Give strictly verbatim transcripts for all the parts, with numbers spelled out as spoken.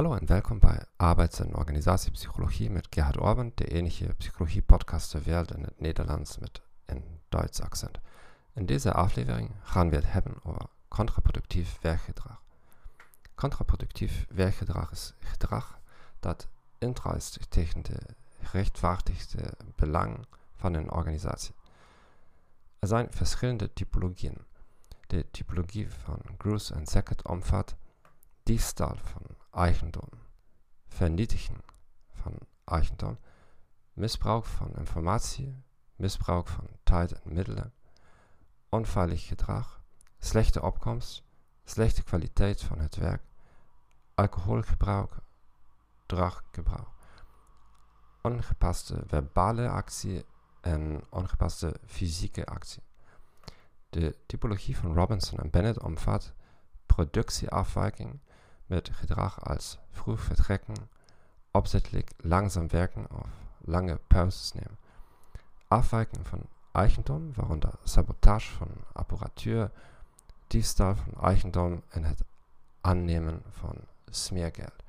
Hallo en welkom bij Arbeids- en Organisatiepsychologie met Gerhard Orban, de enige psychologie-podcast ter wereld in het Nederlands met een Duits accent. In deze aflevering gaan we het hebben over contraproductief werkgedrag. Contraproductief werkgedrag is gedrag dat indruist tegen de gerechtvaardigde belang van een organisatie. Er zijn verschillende typologieën. De typologie van Gruss en Sackett omvat diefstal van eigendom, vernietigen van eigendom, misbruik van informatie, misbruik van tijd en middelen, onveilig gedrag, slechte opkomst, slechte kwaliteit van het werk, alcoholgebruik, druggebruik, ongepaste verbale actie en ongepaste fysieke actie. De typologie van Robinson en Bennett omvat productieafwijking met gedrag als vroeg vertrekken, opzettelijk langzaam werken of lange pauzes nemen. Afwijking van eigendom, waaronder sabotage van apparatuur, diefstal van eigendom en het aannemen van smeergeld.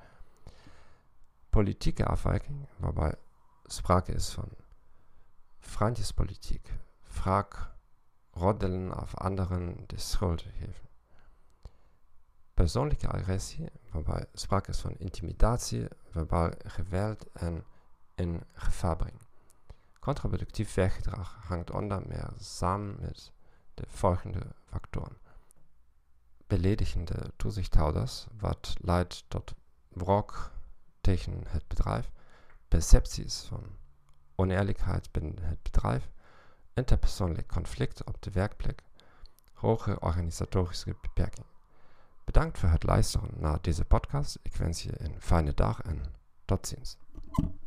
Politieke afwijking, waarbij sprake is van vriendjespolitiek, wraak, roddelen of anderen de schuld geven. Persoonlijke agressie, waarbij sprake is van intimidatie, verbaal geweld en in gevaar brengen. Contraproductief werkgedrag hangt onder meer samen met de volgende factoren. Beledigende toezichthouders, wat leidt tot wrok tegen het bedrijf, percepties van oneerlijkheid binnen het bedrijf, interpersoonlijk conflict op de werkplek, hoge organisatorische beperkingen. Bedankt voor het luisteren naar deze podcast. Ik wens je een fijne dag en tot ziens.